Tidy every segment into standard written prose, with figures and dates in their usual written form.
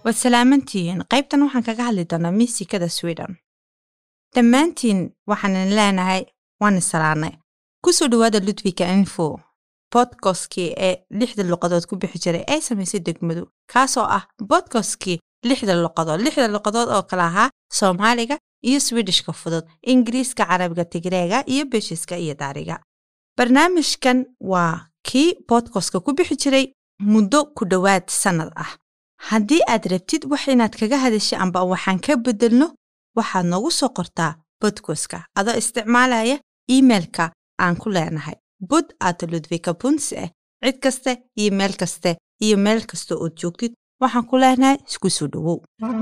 وسلامتين qaybtan waxaan kaga hadli doonaa miisikada Sweden. Dhammaantiin waxaan leenahay waan salaanay. Ku soo dhawaada Ludwika Info podcast-kii ee 6 luqadood ku bixi jiray ay samaysay degmadu kaasoo ah podcast-kii 6 luqadood oo kala ahaa Soomaaliga iyo Swedishka fudud, Ingiriiska, Carabiga, Tigreega iyo Beeshiska iyo Daariga. Barnaamijkan waa kii podcast-ka ku bixi jiray muddo ku dhawaad sanad ah. Haddii aad rabtid wax inaad kaga hadashay amba waxaan ka bedelno waxaad noogu soo qortaa podcast-ka adoo isticmaalaya emailka aan ku leenahay pod@ludwika.se cid kaste email kaste iyo meel kasta oo joogtid waxaan ku leenahay isku soo dhawow.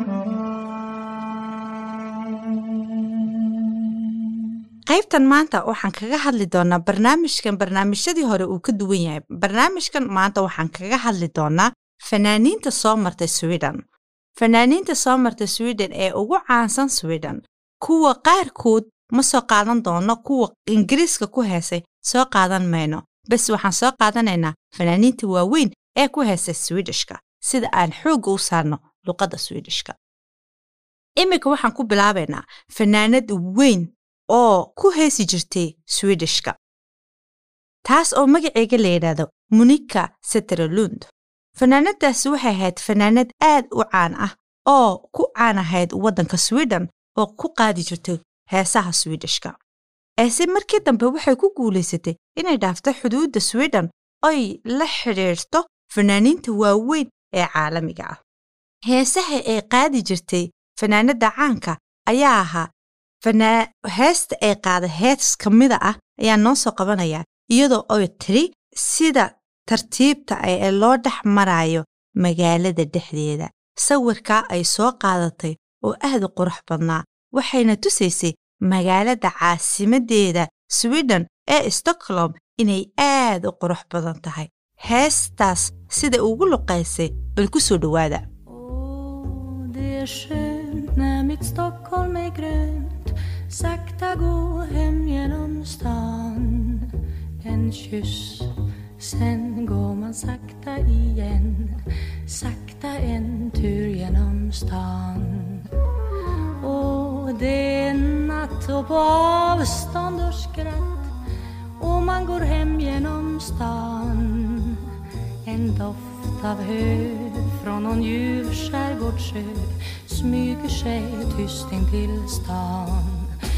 qaybtan maanta waxaan kaga hadli doonaa barnaamijyadii hore uu ka duwan yahay. Barnaamijkan maanta waxaan kaga hadli doonaa fanaaniinta soo martay Sweden. Fanaaniinta soo martay Sweden ee ugu caansan Sweden. Kuwa qaarkood ma soo qaadan doono, kuwa Ingiriiska ku heesay soo qaadan mayno. Bas waxaan soo qaadanaynaa fanaaniinta waaweyn ee ku heesay Swedishka sida aan xoog u saarno luqadda Swedishka. Imika waxaan ku bilaabaynaa fanaanad weyn oo ku heesi jirtay Swedishka. Taas oo magaceega la yiraahdo Monica Zetterlund. Fanaanadaasi waxay ahayd fanaanad aad u caan ah oo ku caan ahayd waddanka Sweden oo ku qaadi jirtay heesaha Swedishka. Eese markii dambe waxay ku guuleysatay inay dhaafto xuduudda Sweden ay la xiriirto fanaaniinta waaweyn ee caalamiga ah. Heesaha ay qaadi jirtay fanaanada caanka ayaa ahaa heesta ay qaada hees ka mid ah ayaa noo soo qabanaya iyadoo ay tiri sida tartiibta ay loo dhex marayo magaalada dhexdeeda. Sawirka ay soo qaadatay oo aad u qurux badnaa waxayna tusaysay magaalada caasimadeeda Sweden ee Stockholm inay aad u qurux badan tahay. Heestaas sida ugu luqaysay bal ku soo dhawaada. Det är skönt när mitt Stockholm är grönt, sakta gå hem genom stan, en kyss. Sen går man sakta igen, sakta en tur genom stan. Och det är natt och på avstånd och skratt, och man går hem genom stan. En doft av hö från någon ljuv skärgårdssjö smyger sig tyst in till stan.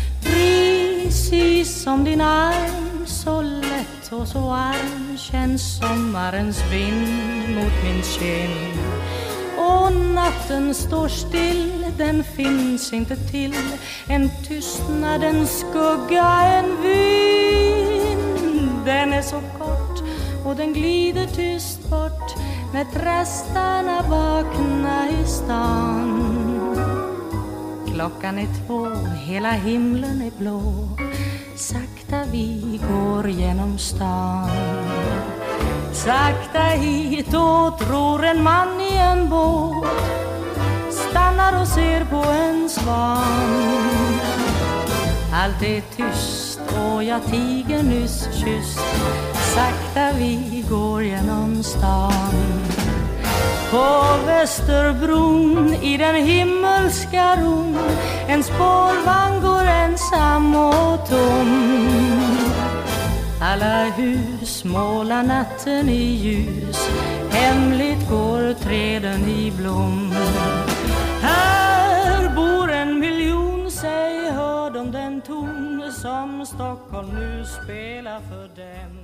Precis som din arm, så lätt och så varm, känns sommarens vind mot min kind. Och natten står still, den finns inte till, en tystnad, en skugga, en vind. Den är så kort och den glider tyst bort när trastarna vaknar i stan. Klockan är 2, hela himlen är blå, sakta vi går genom stan. Sakta hit och tror en man i en båt stannar och ser på en svan. Allt är tyst och jag tiger nyss kysst, sakta vi går genom stan. På Västerbron i den himmelska ron, en spårvagn går ensam och tom. Alla hus målar natten i ljus, hemligt går träden i blom. Här bor 1 miljon, säg hör de den ton som Stockholm nu spelar för dem.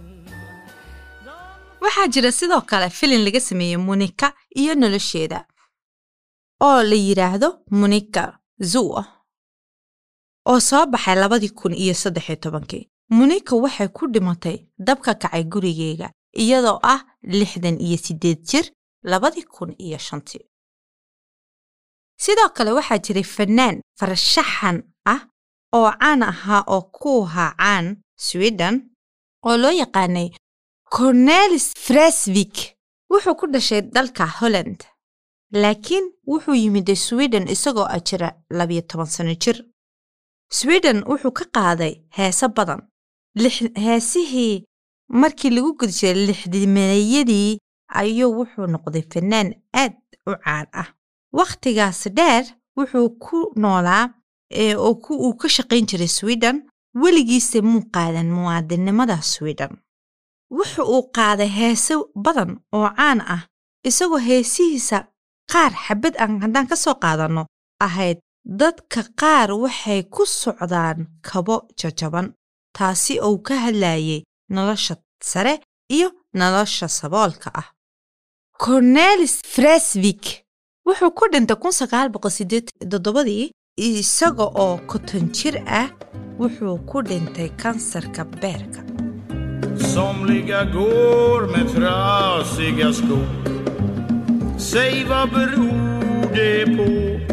Waxaa jira sidoo kale filin laga sameeyay Monica iyo nolosheeda oo la yiraahdo Monica Zoo oo soo baxay 2013. Monica waxay ku dhimatay dabka kacay gurigeega iyadoo ah 68 jir 2005. Sidoo kale waxaa jiray fanaan farshaxan ah oo caan ahaa oo ku ahaa caan Sweden oo loo yaqaanay Cornelis Vreeswijk. Wuxuu ku dhashay dalka Holland laakiin wuxuu yimid Sweden isagoo jira 12 sano jir. Sweden wuxuu ka qaaday heeso badan. Heesihii markii lagu gudbiyay 60-meeyadii ayuu wuxuu noqday fanaan aad u caan ah waqtigaas dheer wuxuu ku noolaa oo uu ka shaqayn jiray Sweden weligiisa muu qaadan muwaadinimada Sweden wuxuu uu qaaday heeso badan oo caan ah isagoo heesihiisa qaar xabad aan haddaan ka soo qaadano ahayd dadka qaar waxay ku socdaan kabo jajaban taasi oo ka hadlayay nolosha sare iyo nolosha saboolka ah Cornelis Vreeswijk wuxuu ku dhintay 1987 isaga oo 50 jir ah wuxuu ku dhintay kansarka beerka Somliga går med trasiga skor Säg vad beror det på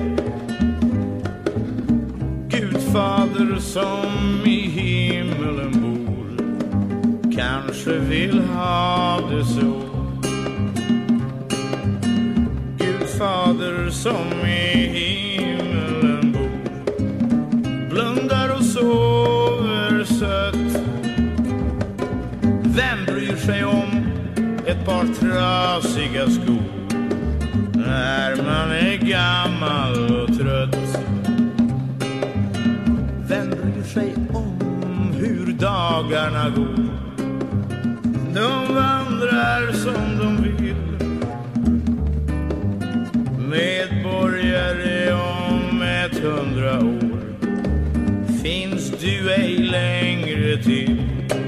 Gudfader som i himmelen bor Kanske vill ha det så Gudfader som i himmelen bor Blundar och sover sött Vem bryr sig om ett par trasiga skor När man är gammal och trött Vem bryr sig om hur dagarna går De vandrar som de vill Medborgare om 100 år Finns du ej längre till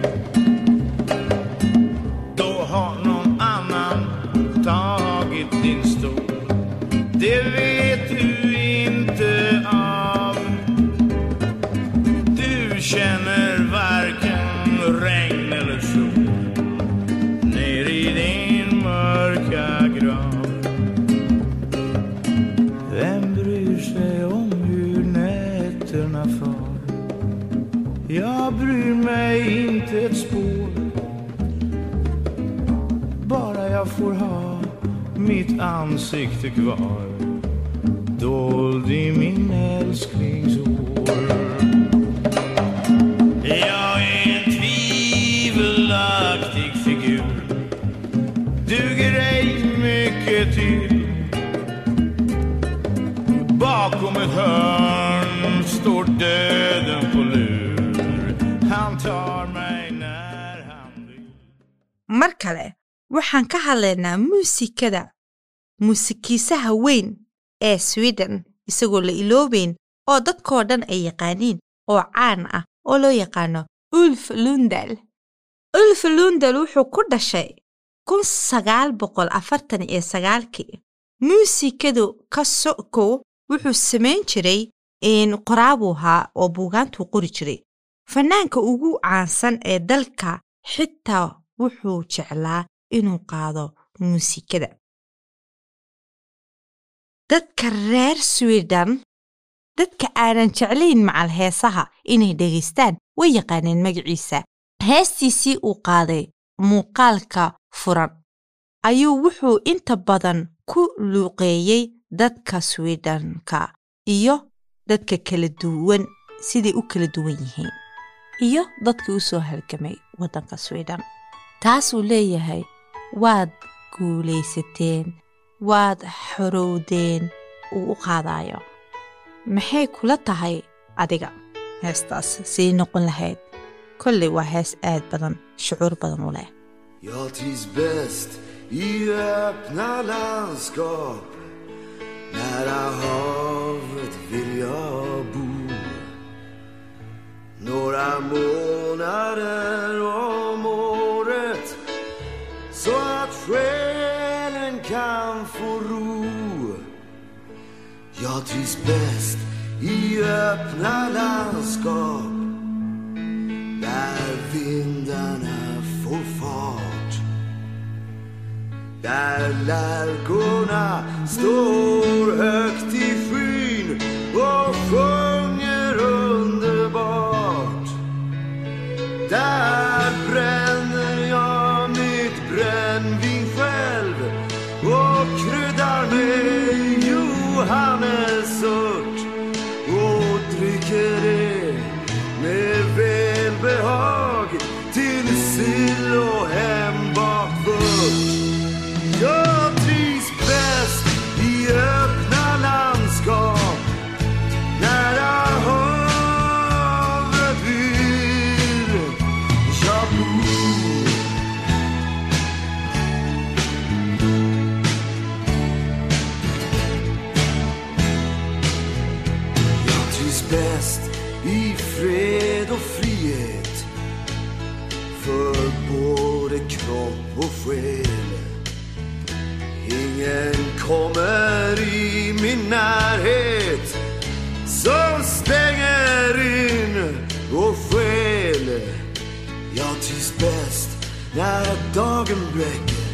Då har någon annan tagit din stol Det vet du inte av Du känner varken regn eller sol Ner i din mörka grav Vem bryr sig om hur nätterna far Jag bryr mig inte ett spår Bara jag får ha mitt ansikte kvar Dold i min älsklingshår Jag är en tvivelaktig figur Duger ej mycket till Bakom ett hörn står döden på lur Han tar mig när han vill mar kale waxaan ka hadlaynaa muusikiisaha weyn ee Sweden isagoo la iloobeyn oo dadkoo dhan ay yaqaaniin oo caan ah oo loo yaqaano Ulf Lundell Ulf Lundell wuxuu ku dhashay 1949 muusikadu ka soko wuxuu samayn jiray qoraabuha oo buugaantu qori jiray fanaanka ugu caansan ee dalka xitaa wuxuu jeclaa inuu qaado muusikada dadka reer Sweden dadka aanan jeclayn macal heesaha inay dhageystaan way yaqaaneen magaciisa heestiisii uu qaaday muuqaalka furan ayuu wuxuu inta badan ku luuqeeyay dadka Swedenka iyo dadka kala duwan sidii u kala duwan yihiin iyo dadka u soo halgamay wadanka Sweden taas uu leeyahay waad guulaysateen waad xorowdeen uu u qaadayo maxay kula tahay adiga heestaas sii noqon lahayd kolley waa hees aad badan shucuur badan u leh Jag trivs bäst i öppna landskap Nära havet vill jag bo Några månader om året Så att själen kan få ro Jag trivs bäst i öppna landskap Där vindarna får fart Där lärkorna står högt i skyn och sjunger underbart Där bränner jag mitt brännvin själv och kryddar med johannesört och dricker det med välbehag till sill och hembakt vört Jag trivs bäst i öppna och skäl. Ingen kommer i min närhet som stänger in och skäl. Jag trivs bäst när dagen bräcker,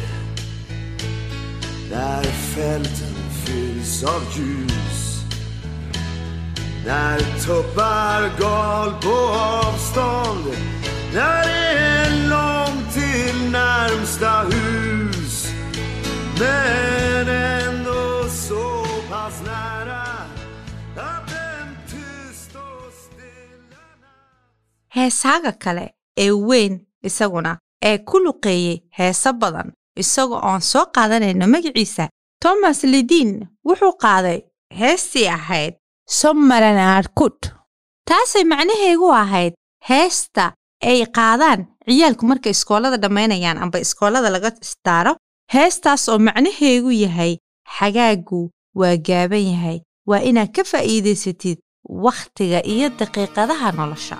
när fälten fylls av ljus, när tuppar gal på avstånd, när det är långt till närmsta hus, men ändå så pass nära att en tyst och stilla natt. heesaaga kale ee weyn isaguna ee ku luqeeyey heesa badan isagoo aan soo qaadanayno magaciisa Thomas Ledin wuxuu qaaday heestii ahayd Sommaren är kort. Taasay macnaheedu ahayd heesta ay qaadaan ciyaalku markay iskoolada dhamaynayaan amba iskoolada laga istaaro. Heestaas oo macnaheedu yahay xagaagu waa gaaban yahay, waa inaad ka faa'iidaysatid waqtiga iyo daqiiqadaha nolosha.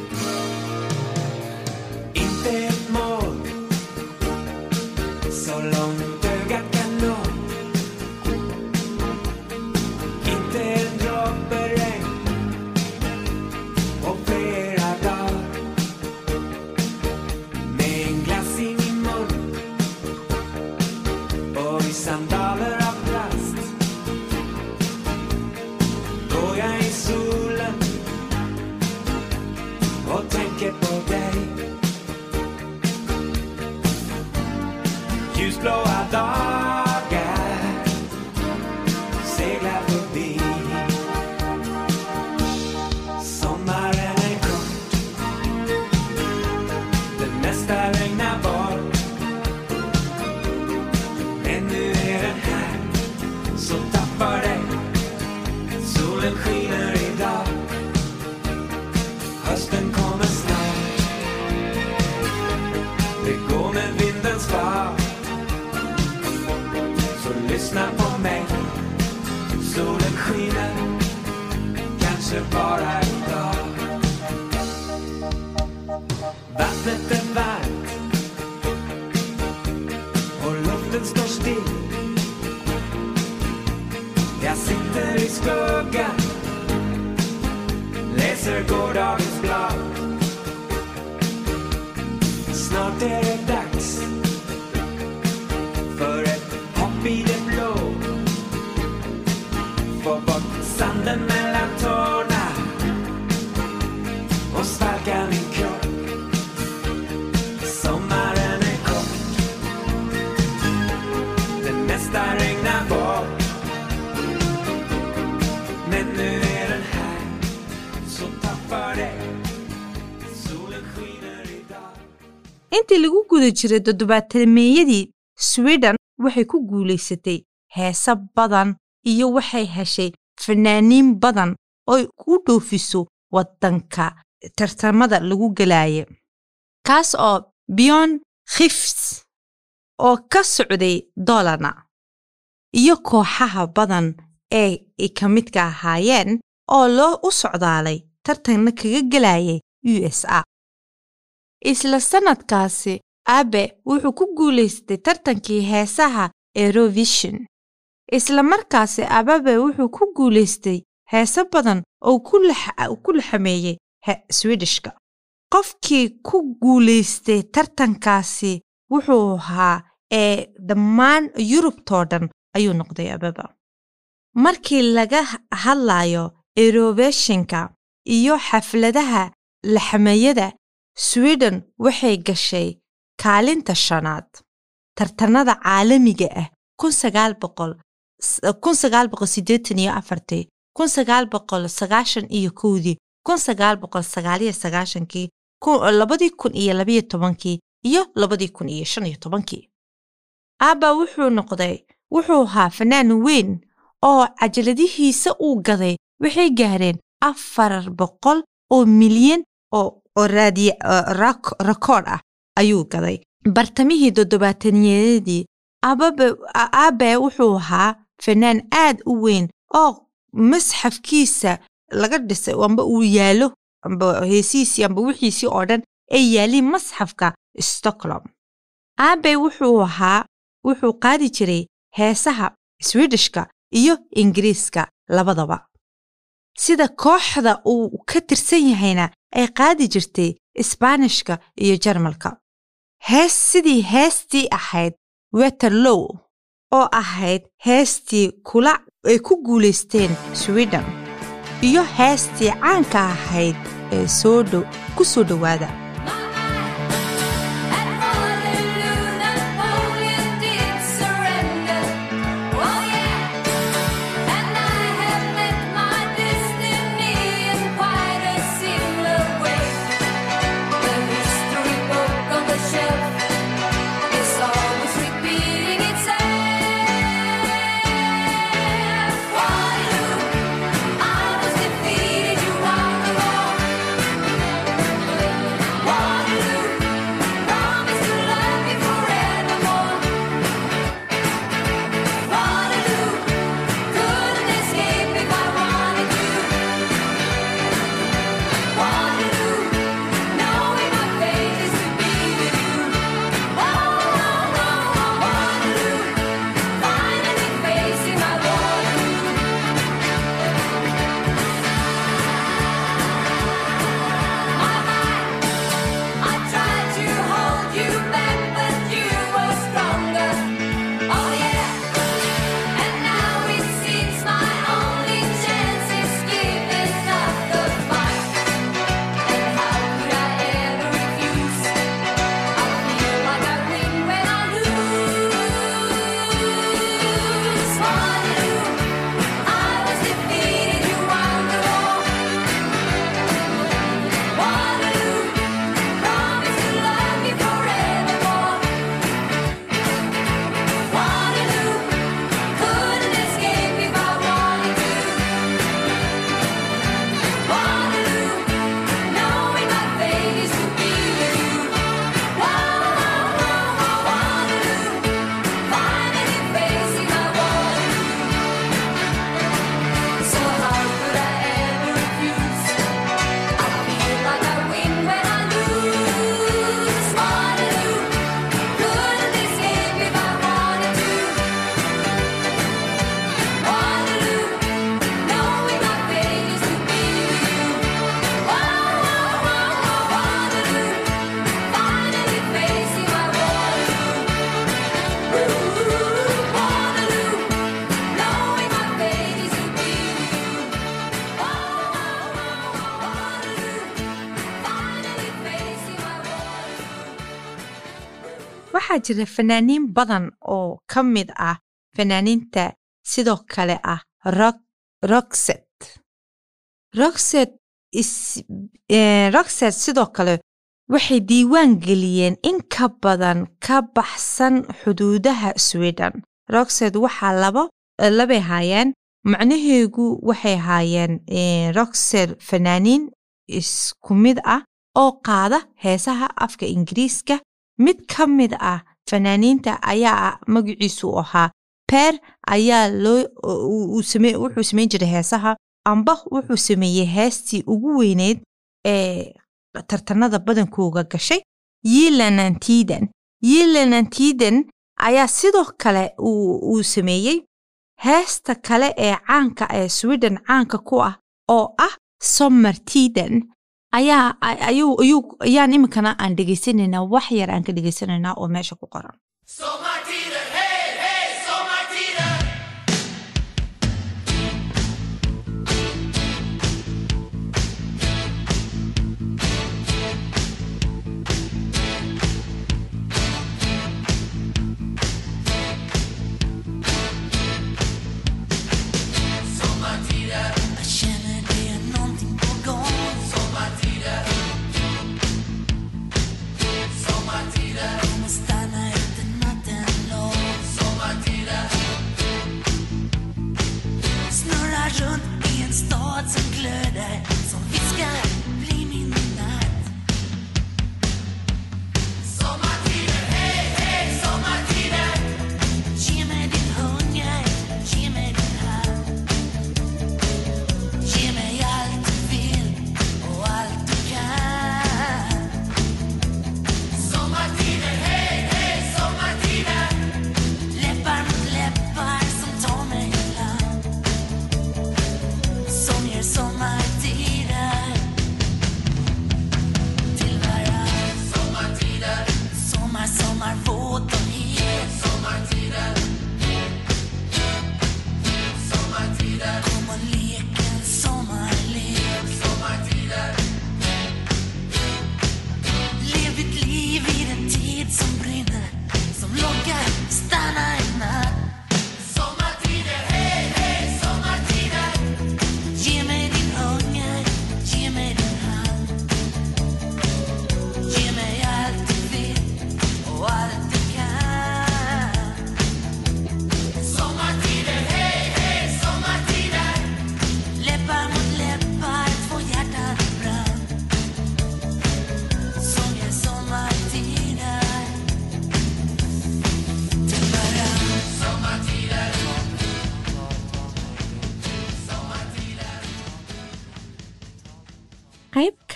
Sandaler av plast. Går jag i solen och tänker på dig. Ljusblåa dagar seglar förbi. Sommaren är kort, det mesta regnar bort. Så tappar dig, solen skiner idag. Hösten kommer snart, det går med vindens fart. Så lyssna på mig, solen skiner, kanske bara idag. Vattnet är varmt och luften står still. Jag sitter i skuggan, läser gårdagens blad. Snart är det dags för ett hopp i det blå. Få bort sanden mellan tårna och svalka min kropp. Sommaren är kort, det mesta regnar bort. Men nu är den här, så tappar det, solen skiner idag. Intii lagu guda jiray toddobaadmeeyadii Sweden waxay ku guuleysatay heesa badan iyo waxay heshay fanaaniin badan oo ku dhoofiso wadanka tartamada lagu galaayo. Kaas oo Björn Skifs oo ka socday Dalarna iyo kooxaha badan ee ka midka ahaayeen oo loo u socdaalay tartanna kaga galayay USA. Isla sanadkaasi Abbe wuxuu ku guuleystay tartankii heesaha Eurovision. Isla markaasi Abbe wuxuu ku guuleystay heesa badan oo ku laxameeyay Swedishka. Qofkii ku guuleystay tartankaasi wuxuu ahaa dhammaan Yurubtoodan ayuu noqday Abbe. Markii laga hadlayo Eurovisionka iyo xafladaha laxameeyada, Sweden waxay gashay kaalinta shanaad tartanada caalamiga ah 1984, 1991, 1999, 1999, 2012 iyo 2015. Abba wuxuu ahaa fanaan weyn oo cajaladihiisa uu gaday waxay gaareen 400 milyan oo record ah ayuu gaday. Bartamihii toddobaatanyadii Abbe wuxuu ahaa fanaan aad u weyn oo masxafkiisa laga dhisay amba uu yaalo amba heesiisi amba wixiisi oo dhan ay yaaliin masxafka Stockholm. aabe wuxuu qaadi jiray heesaha Swedishka iyo Ingiriiska labadaba sida kooxda uu ka tirsan yahayna ay qaadi jirtay Isbaanishka iyo Jarmalka sidii heestii ahayd Waterloo oo ahayd heestii ay ku guuleysteen Sweden iyo heestii caanka ahayd ee ku soo dhawaada waxaa jira fanaaniin badan oo ka mid ah fanaaniinta sidoo kale ah Roxette sidoo kale waxay diiwaan geliyeen in ka badan ka baxsan xuduudaha Sweden Roxette waxaa labay haayeen macnaheedu waxay haayeen Roxette fanaaniin isku mid ah oo qaada heesaha afka Ingiriiska mid ka mid ah fanaaniinta ayaa magaciisu ahaa Per ayaa wuxuu sameyn jiray heesaha amba wuxuu sameeyay heestii ugu weyneed ee tartanada badankooga gashay Yelanantiden ayaa sidoo kale uu sameeyay heesta kale ee caanka ee Sweden caanka ku ah oo ah Sommartiden ayaan iminkana aan dhegaysanaynaa wax yar aan ka dhegaysanaynaa oo meesha ku qoran Sommartiden, hey, hey, sommartiden. Sommartiden, jag känner det är någonting på gång. Sommartiden, sommartiden. Kommer stanna ute natten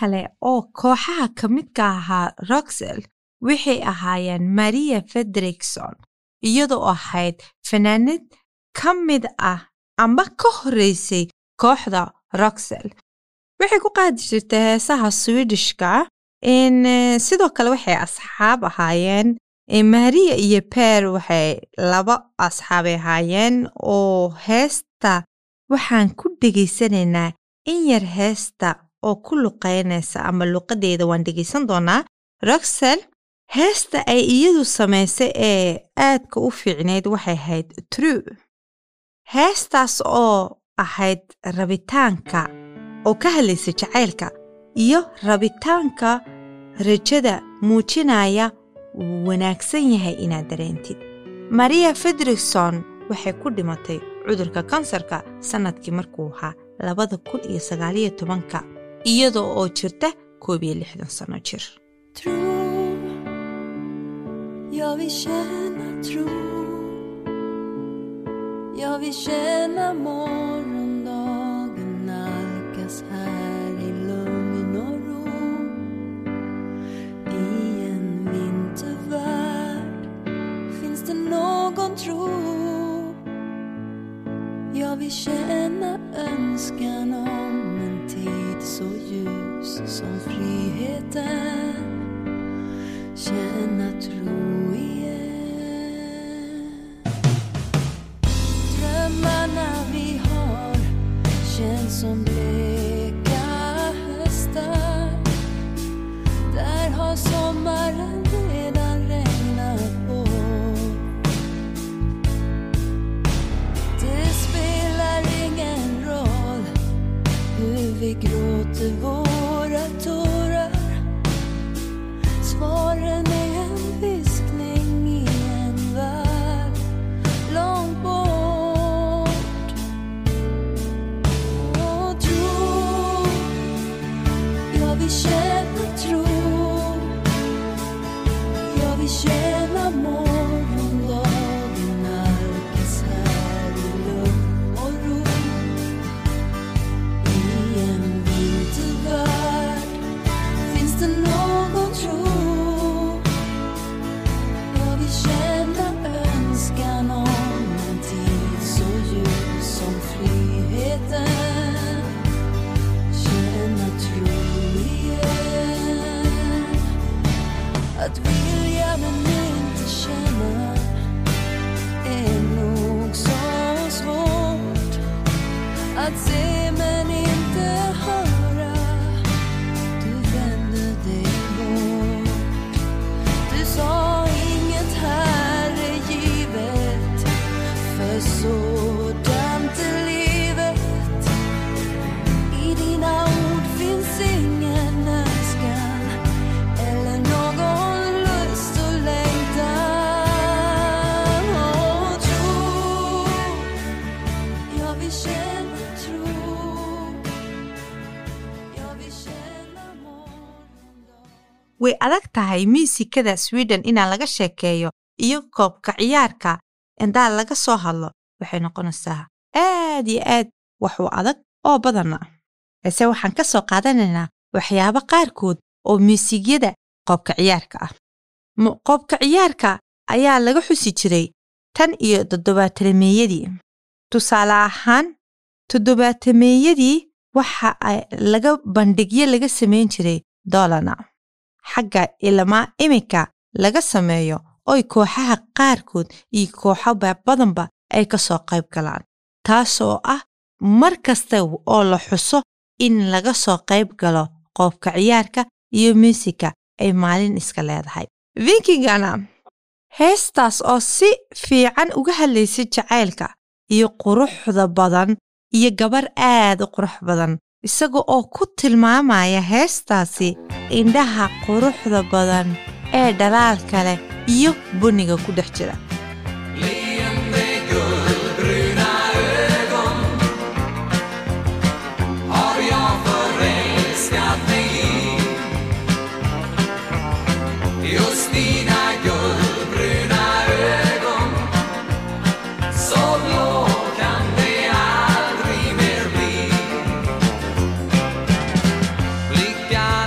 kale oo kooxaha ka midka ahaa Roxelle waxay ahaayeen Maria Fredriksson iyadoo ahayd fanaanad ka mid ah ama ka horeysay kooxda Roxelle. waxay ku qaadi jirtay heesaha Swedishka sidoo kale waxay asxaab ahaayeen Maria iyo Per waxay laba asxaab ahaayeen oo heesta waxaan ku dhageysanaynaa in yar heesta oo ku luqeynaysa ama luqadeeda waan dhageysan doonaa. Roxelle heesta ay iyadu samaysay ee aadka u fiicneyd waxay ahayd True. heestaas oo ahayd rabitaanka oo ka hadlaysa jacaylka iyo rabitaanka rajada muujinaya wanaagsan yahay inaad dareentid. Maria Fredriksson waxay ku dhimatay cudurka kansarka sanadkii markuu ahaa 2019 iyadoo oo jirta 61 sano jir. Jag vill känna tro. Jag vill känna morgondagen nalkas här i lugn och ro. I en vintervärld finns det någon tro. Jag vill känna önskan om en tid så ljus som friheten. Känna tro igen. Drömmarna vi har känns som bleka höstar. Där har sommaren redan regnat på. Det spelar ingen roll hur vi gråter våra tårar. Svaren är en viskning i en värld långt bort. Och tro, jag vill känna tro. Jag vill känna morgondagen nalkas här i lugn och ro. I en vintervärld finns det någon tro. Jag vill känna önskan om en tid så ljus som friheten. Känna tro igen. Att vilja men inte känna är nog så svårt. Att se men inte höra. Du vände dig bort. Du sa inget här är givet. För sådant är livet. I dina ord finns ingen önskan eller någon lust och längtan. Och tro, jag vill känna tro. Jag vill känna morgondag. way adag tahay muusikada Sweden inaan laga sheekeeyo iyo koobka ciyaarka inta laga soo hadlo waxay noqonaysaa aad iyo aad wax u adag oo badan. Ese waxaan ka soo qaadanaynaa waxyaabo qaarkood oo muusikada koobka ciyaarka ah. Koobka ciyaarka ayaa laga xusi jiray tan iyo 70-meeyadii. Tusaale ahaan 70-meeyadii waxa ay laga bandhigyo laga sameyn jiray doolana. xagga ilama imika laga sameeyo oo kooxaha qaarkood iyo kooxo badanba ay ka soo qayb galaan. taasoo ah mar kasta oo la xuso in laga soo qayb galo koobka ciyaarka iyo muusika ay maalin iska leedahay. Vikingana heestaas oo si fiican uga hadlaysay jacaylka iyo quruxda badan iyo gabar aad u qurux badan isaga oo ku tilmaamaya heestaasi indhaha quruxda badan ee dhalaalka leh iyo buniga ku dhex jira. Leende guldbruna ögon har jag förälskat mig i. Just dina guldbruna ögon, så blå kan det aldrig mer bli. Blickar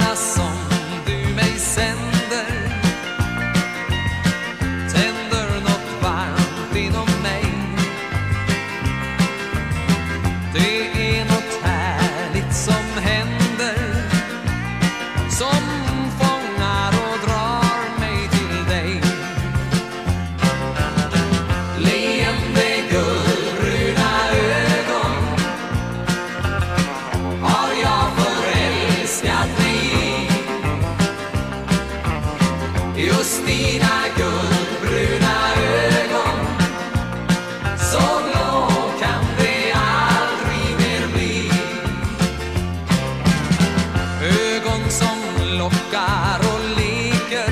forskar och leker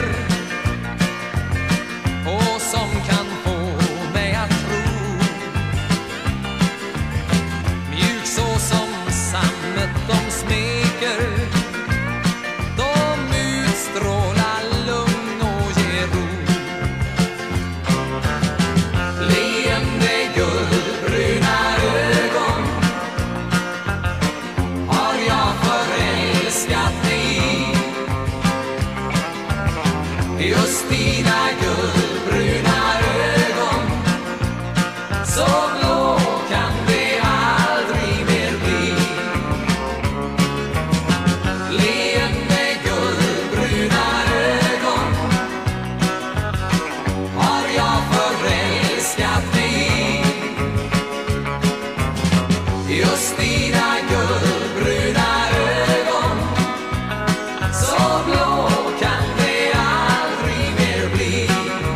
och som kan få mig att tro mjuk så som sammet de smeker. De utstrålar lugn och ger ro. Leende guldbruna ögon har jag förälskat mig i. Just dina guldbruna ögon, så blå kan det aldrig mer bli. Leende guldbruna ögon har jag förälskat mig i. Just dina guldbruna ögon, så blå kan det aldrig mer bli.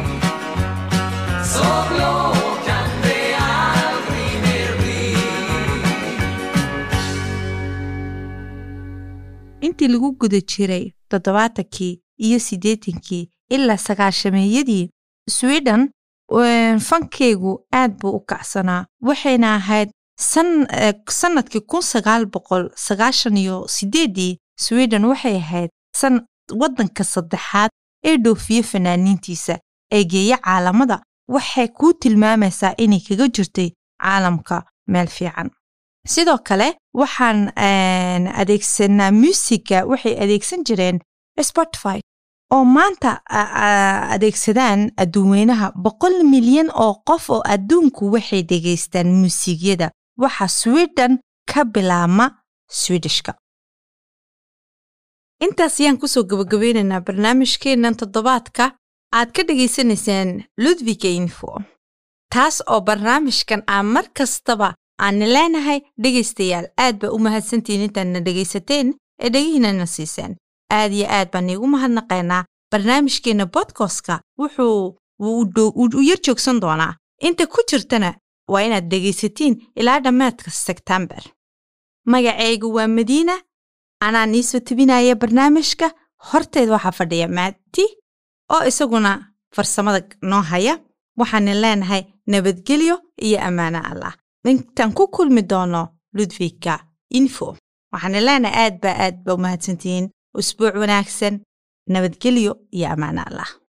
Så blå kan det aldrig mer bli. intii lagu guda jiray 70-kii iyo 80-kii ilaa 90-meeyadii Sweden fankeygu aad buu u kacsanaa waxayna ahayd sanadkii 1998 Sweden waxay ahayd wadanka saddexaad ee dhoofiye fanaaniintiisa ee geeya caalamada waxay ku tilmaamaysaa inay kaga jirtay caalamka meel fiican. sidoo kale waxaan adeegsanaa musiga waxay adeegsan jireen Spotify oo maanta adeegsadaan adduunweynaha 100 milyan oo qof oo adduunku waxay dhageystaan muusigyada waxa Sweden ka bilaama Swedishka. intaas ayaan kusoo gabagabeynaynaa barnaamijkeennan toddobaadka aad ka dhageysanaysaan Ludwig Info taas oo barnaamijkan aan mar kastaba aan leenahay dhegeystayaal aad ba u mahadsantiin intaadna dhegeysateen ee dhagihiinana siiseen aad iyo aad baan iigu mahadnaqaynaa barnaamijkeena podcastka wuxuu u yar joogsan doonaa inta ku jirtana waa inaad dhegeysatiin ilaa dhammaadka September. magacaygu waa Madiina anaa niisoo tabinaya barnaamijka horteed waxaa fadhiya Maati oo isaguna farsamada noo haya waxaan leenahay nabadgelyo iyo ammaano Allah intaan ku kulmi doono Ludwig Info waxaan leenahay aad ba u mahadsantiin usbuuc wanaagsan nabadgelyo iyo ammaano Allah.